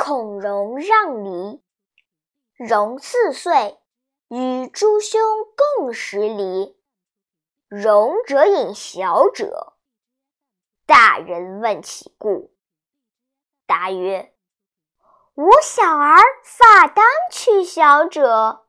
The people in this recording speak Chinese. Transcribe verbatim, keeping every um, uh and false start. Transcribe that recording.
孔融让梨。融四岁，与诸兄共食梨。融者饮小者。大人问其故。答曰：吾小儿发当取小者。